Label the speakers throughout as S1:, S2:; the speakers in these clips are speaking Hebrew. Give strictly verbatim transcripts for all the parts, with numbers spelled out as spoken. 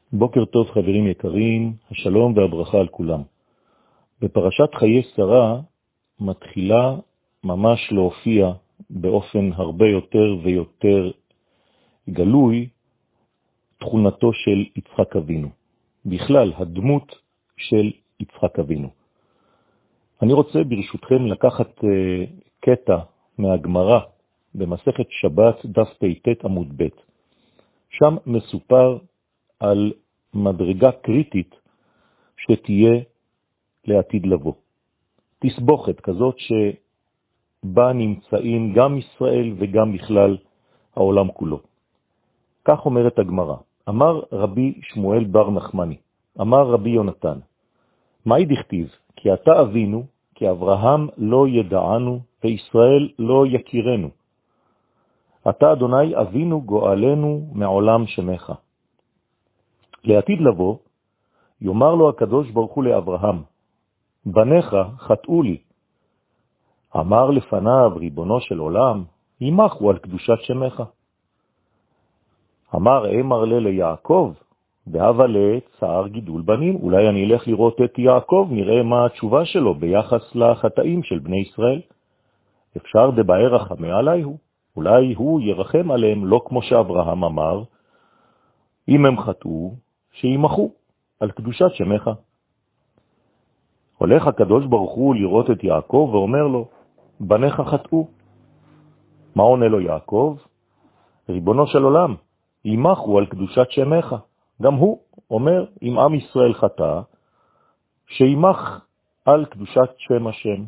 S1: בוקר טוב חברים יקרים, השלום והברכה על כולם. בפרשת חיי שרה מתחילה ממש להופיע באופן הרבה יותר ויותר גלוי תכונתו של יצחק אבינו. בכלל, הדמות של יצחק אבינו. אני רוצה ברשותכם לקחת uh, קטע מהגמרא במסכת שבת דף פ"ט עמוד ב'. שם מסופר על מדרגה קריטית שתהיה לעתיד לבוא. תסבוכת כזאת שבה נמצאים גם ישראל וגם בכלל העולם כולו. כך אומרת הגמרא. אמר רבי שמואל בר נחמני, אמר רבי יונתן, מהי דכתיב? כי אתה אבינו, כי אברהם לא ידענו וישראל לא יכירנו. אתה אדוני אבינו גואלנו מעולם שמך. לעתיד לבוא, יאמר לו הקדוש ברוך הוא לאברהם, בניך חטאו לי. אמר לפניו ריבונו של עולם, ימחו על קדושת שמך. אמר אמר לה ליעקב, בהווה לצער גידול בנים, אולי אני אלך לראות את יעקב, נראה מה התשובה שלו ביחס לחטאים של בני ישראל. אפשר דבעי רחמי עלי הוא, אולי הוא ירחם עליהם, לא כמו שאברהם אמר, אם הם חטאו, שימחו על קדושת שמך. הולך הקדוש ברוך הוא לראות את יעקב ואומר לו, בניך חטאו. מה עונה לו יעקב? ריבונו של עולם, ימחו על קדושת שמך. גם הוא אומר, אם עם ישראל חטא, שימח על קדושת שם השם.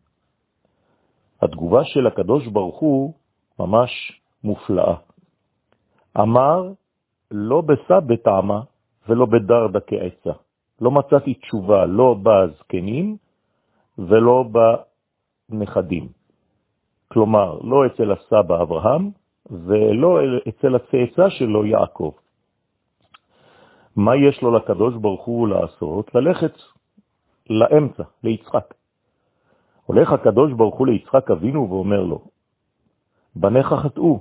S1: התגובה של הקדוש ברוך הוא ממש מופלאה. אמר, לא בסע בטעמה ולא בדרדה כעצה. לא מצאתי תשובה, לא בזקנים ולא בנכדים. כלומר, לא אצל הסבא אברהם ולא אצל הצאצא שלו יעקב. מה יש לו לקדוש ברוך הוא לעשות? ללכת לאמצע, ליצחק. הולך הקדוש ברוך הוא ליצחק אבינו ואומר לו, בניך חטאו.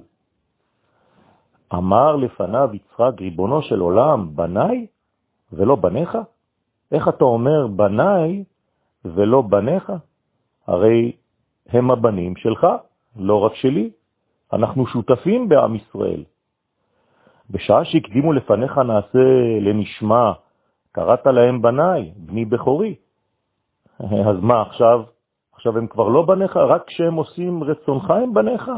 S1: אמר לפניו יצחק, ריבונו של עולם, בניי ולא בניך? איך אתה אומר בניי ולא בניך? הרי הם הבנים שלך, לא רק שלי. אנחנו שותפים בעם ישראל. בשעה שהקדימו לפניך נעשה לנשמע, קראת להם בניי, בני בכורי. אז מה עכשיו? עכשיו הם כבר לא בניך, רק כשהם עושים רצונך הם בניך.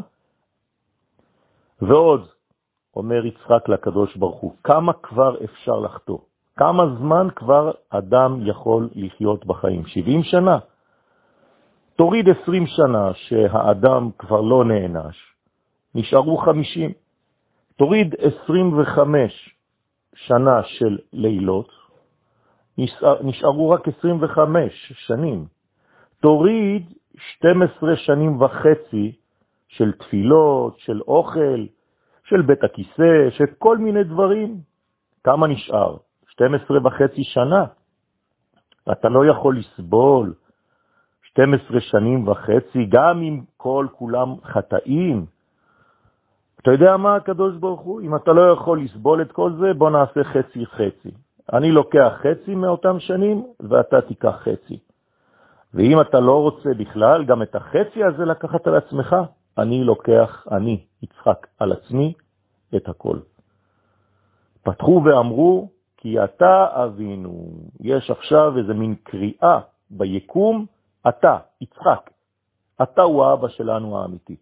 S1: ועוד, אומר יצחק לקדוש ברוך הוא, כמה כבר אפשר לחטוא? כמה זמן כבר אדם יכול לחיות בחיים? שבעים שנה? תוריד עשרים שנה שהאדם כבר לא נענש, נשארו חמישים. תוריד עשרים וחמש שנה של לילות, נשארו רק עשרים וחמש שנים. תוריד שתים עשרה שנים וחצי של תפילות, של אוכל, של בית הכיסא, של כל מיני דברים. כמה נשאר? שתים עשרה וחצי שנה. אתה לא יכול לסבול שתים עשרה שנים וחצי, גם אם כל כולם חטאים. אתה יודע מה הקדוש ברוך הוא? אם אתה לא יכול לסבול את כל זה, בוא נעשה חצי חצי. אני לוקח חצי מאותם שנים, ואתה תיקח חצי. ואם אתה לא רוצה בכלל, גם את החצי הזה לקחת על עצמך, אני לוקח, אני, יצחק, על עצמי את הכל. פתחו ואמרו, כי אתה אבינו. יש עכשיו איזה מין קריאה ביקום, אתה, יצחק. אתה הוא האבא שלנו האמיתי.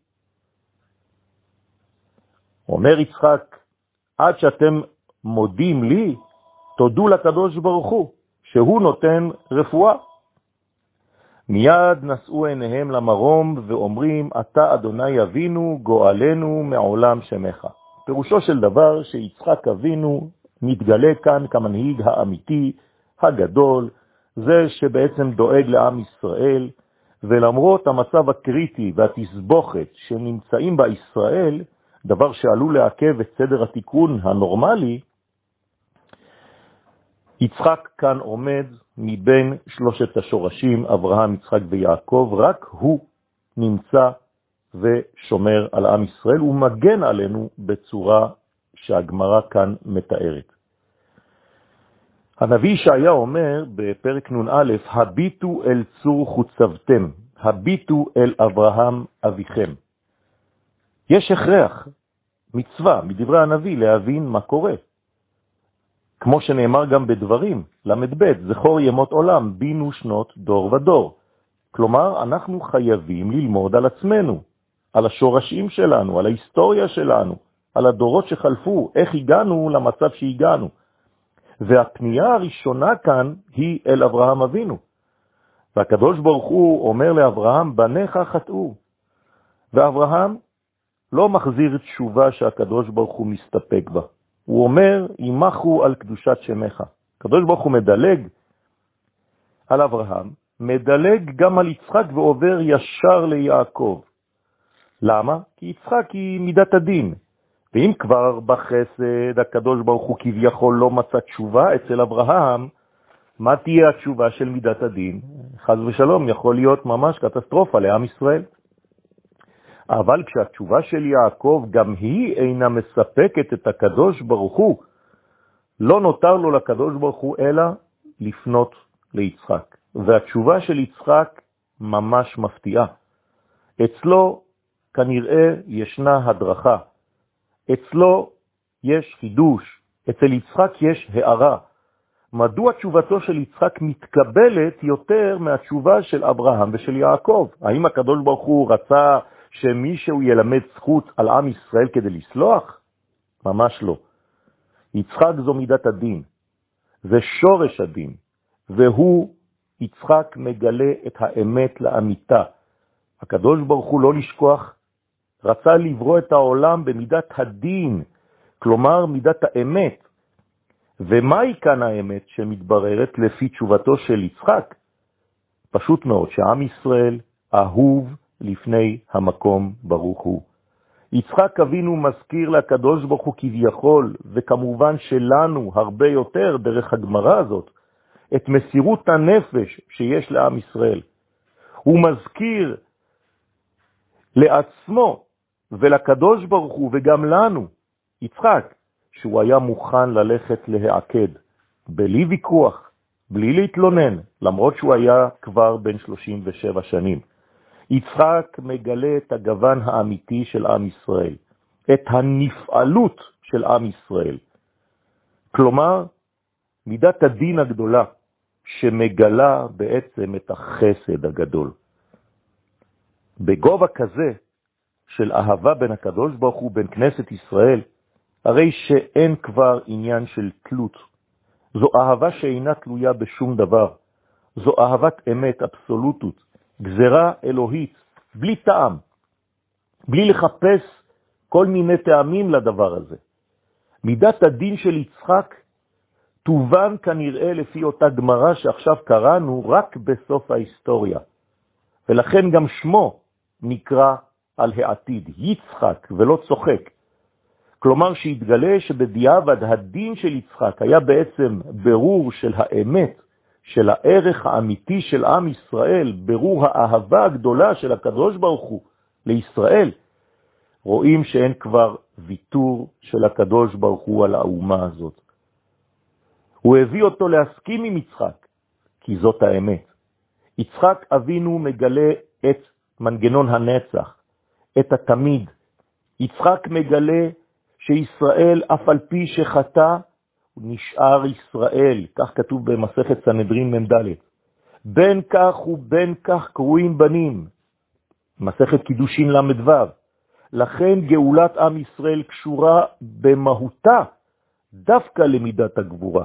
S1: אומר יצחק, עד שאתם מודים לי, תודו לקדוש ברוך הוא, שהוא נותן רפואה. מיד נשאו עיניהם למרום ואומרים, אתה אדוני אבינו גואלנו מעולם שמך. פירושו של דבר שיצחק אבינו מתגלה כאן כמנהיג האמיתי, הגדול, זה שבעצם דואג לעם ישראל, ולמרות המצב הקריטי והתסבוכת שנמצאים בישראל, דבר שעלול לעכב את סדר התיקון הנורמלי, יצחק כאן עומד מבין שלושת השורשים, אברהם, יצחק ויעקב, רק הוא נמצא ושומר על עם ישראל, ומגן עלינו בצורה שהגמרא כאן מתארת. הנביא ישעיה אומר בפרק נון א', הביטו אל צור חוצבתם, הביטו אל אברהם אביכם. יש הכרח, מצווה, מדברי הנביא, להבין מה קורה. כמו שנאמר גם בדברים, למד ב', זכור ימות עולם, בינו שנות דור ודור. כלומר, אנחנו חייבים ללמוד על עצמנו, על השורשים שלנו, על ההיסטוריה שלנו, על הדורות שחלפו, איך הגענו למצב שהגענו. והפנייה הראשונה כאן היא אל אברהם אבינו. והקדוש ברוך הוא אומר לאברהם, בניך חטאו. ואברהם לא מחזיר תשובה שהקדוש ברוך הוא מסתפק בה. הוא אומר, ימחו על קדושת שמך. הקדוש ברוך הוא מדלג על אברהם, מדלג גם על יצחק ועובר ישר ליעקב. למה? כי יצחק היא מידת הדין. ואם כבר בחסד הקדוש ברוך הוא כביכול לא מצא תשובה אצל אברהם, מה תהיה התשובה של מידת הדין? חס ושלום, יכול להיות ממש קטסטרופה לעם ישראל. אבל כשהתשובה של יעקב גם היא אינה מספקת את הקדוש ברוך הוא, לא נותר לו לקדוש ברוך הוא אלא לפנות ליצחק. והתשובה של יצחק ממש מפתיעה. אצלו כנראה ישנה הדרכה. אצלו יש חידוש. אצל יצחק יש הערה. מדוע תשובתו של יצחק מתקבלת יותר מהתשובה של אברהם ושל יעקב? האם הקדוש ברוך הוא רצה שמישהו ילמד זכות על עם ישראל כדי לסלוח? ממש לא. יצחק זו מידת הדין. זה שורש הדין. והוא, יצחק, מגלה את האמת לאמיתה. הקדוש ברוך הוא, לא לשכוח, רצה לברוא את העולם במידת הדין, כלומר מידת האמת. ומהי כאן האמת שמתבררת לפי תשובתו של יצחק? פשוט מאוד, שעם ישראל אהוב לפני המקום ברוך הוא. יצחק אבינו מזכיר לקדוש ברוך הוא כביכול, וכמובן שלנו הרבה יותר דרך הגמרא הזאת, את מסירות הנפש שיש לעם ישראל. הוא מזכיר לעצמו ולקדוש ברוך הוא וגם לנו, יצחק, שהוא היה מוכן ללכת להעקד, בלי ויכוח, בלי להתלונן, למרות שהוא היה כבר בן שלושים ושבע שנים. יצחק מגלה את הגוון האמיתי של עם ישראל, את הנפעלות של עם ישראל. כלומר, מידת הדין הגדולה, שמגלה בעצם את החסד הגדול. בגובה כזה של אהבה בין הקדוש ברוך הוא, בין כנסת ישראל, הרי שאין כבר עניין של תלות. זו אהבה שאינה תלויה בשום דבר. זו אהבת אמת, אבסולוטות, גזרה אלוהית, בלי טעם, בלי לחפש כל מיני טעמים לדבר הזה. מידת הדין של יצחק תובן כנראה לפי אותה גמרא שעכשיו קראנו רק בסוף ההיסטוריה. ולכן גם שמו נקרא על העתיד, יצחק ולא צוחק. כלומר שהתגלה שבדיעבד הדין של יצחק היה בעצם ברור של האמת, של הערך האמיתי של עם ישראל, ברור האהבה הגדולה של הקדוש ברוך הוא לישראל. רואים שאין כבר ויתור של הקדוש ברוך הוא על האומה הזאת. הוא הביא אותו להסכים עם יצחק, כי זאת האמת. יצחק אבינו מגלה את מנגנון הנצח, את התמיד. יצחק מגלה שישראל אף על פי שחטא, הוא נשאר ישראל, כך כתוב במסכת סנהדרין מ"ד. בין כך ובין כך קרויים בנים, מסכת קידושין למ"ו. לכן גאולת עם ישראל קשורה במהותה דווקא למידת הגבורה.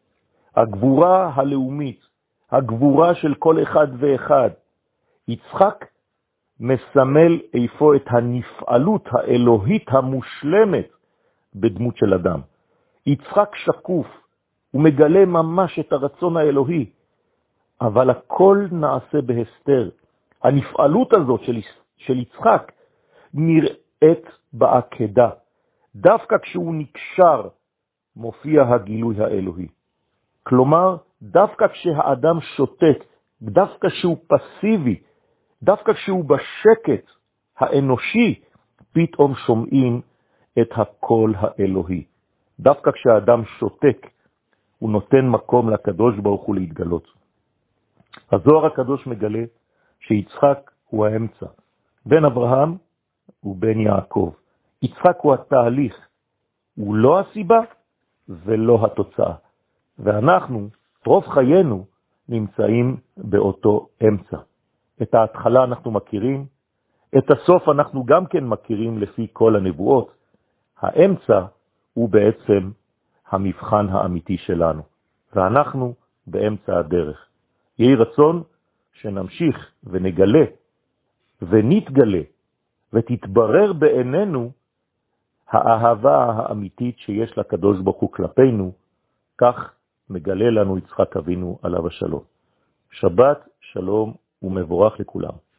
S1: הגבורה הלאומית, הגבורה של כל אחד ואחד. יצחק מסמל איפה את הנפעלות האלוהית המושלמת בדמות של אדם. יצחק שקוף, הוא מגלה ממש את הרצון האלוהי, אבל הכל נעשה בהסתר. הנפעלות הזאת של, של יצחק נראית בעקדה. דווקא כשהוא נקשר מופיע הגילוי האלוהי. כלומר, דווקא כשהאדם שותק, דווקא כשהוא פסיבי, דווקא כשהוא בשקט האנושי, פתאום שומעים את הקול האלוהי. דווקא כשהאדם שותק הוא נותן מקום לקדוש ברוך הוא להתגלות. הזוהר הקדוש מגלה שיצחק הוא האמצע, בין אברהם ובין יעקב. יצחק הוא התהליך, הוא לא הסיבה ולא התוצאה. ואנחנו, רוב חיינו, נמצאים באותו אמצע. את ההתחלה אנחנו מכירים, את הסוף אנחנו גם כן מכירים לפי כל הנבואות. האמצע הוא בעצם המבחן האמיתי שלנו, ואנחנו באמצע הדרך. יהי רצון שנמשיך ונגלה ונתגלה ותתברר בעינינו האהבה האמיתית שיש לקדוש ברוך הוא כלפינו, כך מגלה לנו יצחק אבינו עליו השלום. שבת שלום ומבורך לכולם.